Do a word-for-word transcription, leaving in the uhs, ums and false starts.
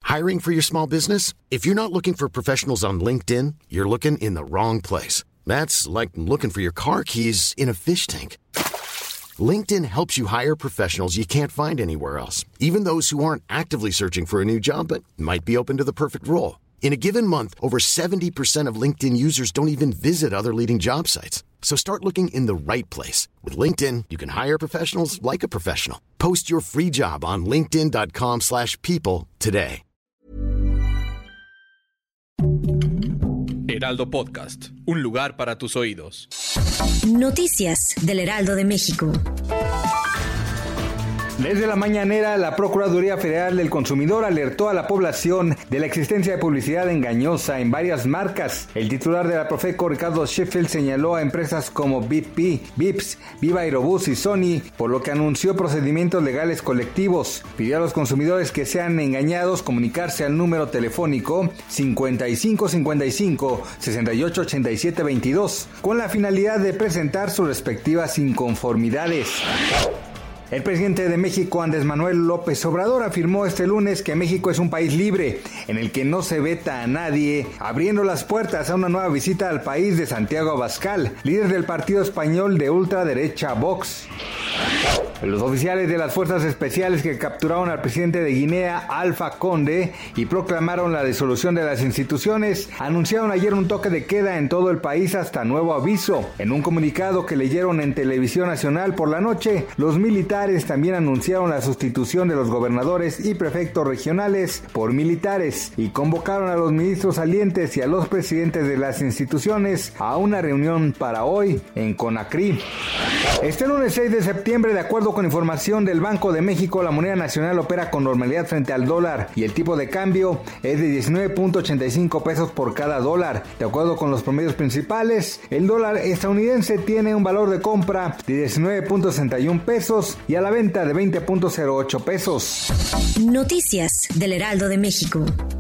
Hiring for your small business? If you're not looking for professionals on LinkedIn, you're looking in the wrong place. That's like looking for your car keys in a fish tank. LinkedIn helps you hire professionals you can't find anywhere else, even those who aren't actively searching for a new job but might be open to the perfect role. In a given month, over seventy percent of LinkedIn users don't even visit other leading job sites. So start looking in the right place. With LinkedIn, you can hire professionals like a professional. Post your free job on linkedin dot com slash people today. Heraldo Podcast, un lugar para tus oídos. Noticias del Heraldo de México. Desde la mañanera, la Procuraduría Federal del Consumidor alertó a la población de la existencia de publicidad engañosa en varias marcas. El titular de la Profeco, Ricardo Sheffield, señaló a empresas como B P, Vips, Viva Aerobús y Sony, por lo que anunció procedimientos legales colectivos. Pidió a los consumidores que sean engañados comunicarse al número telefónico cincuenta y cinco cincuenta y cinco, sesenta y ocho ochenta y siete veintidós, con la finalidad de presentar sus respectivas inconformidades. El presidente de México, Andrés Manuel López Obrador, afirmó este lunes que México es un país libre, en el que no se veta a nadie, abriendo las puertas a una nueva visita al país de Santiago Abascal, líder del partido español de ultraderecha Vox. Los oficiales de las fuerzas especiales que capturaron al presidente de Guinea, Alpha Conde, y proclamaron la disolución de las instituciones, anunciaron ayer un toque de queda en todo el país hasta nuevo aviso. En un comunicado que leyeron en Televisión Nacional por la noche, los militares también anunciaron la sustitución de los gobernadores y prefectos regionales por militares y convocaron a los ministros salientes y a los presidentes de las instituciones a una reunión para hoy en Conakry. Este lunes seis de septiembre, de acuerdo con información del Banco de México, la moneda nacional opera con normalidad frente al dólar y el tipo de cambio es de diecinueve punto ochenta y cinco pesos por cada dólar. De acuerdo con los promedios principales, el dólar estadounidense tiene un valor de compra de diecinueve punto sesenta y uno pesos y a la venta de veinte punto cero ocho pesos. Noticias del Heraldo de México.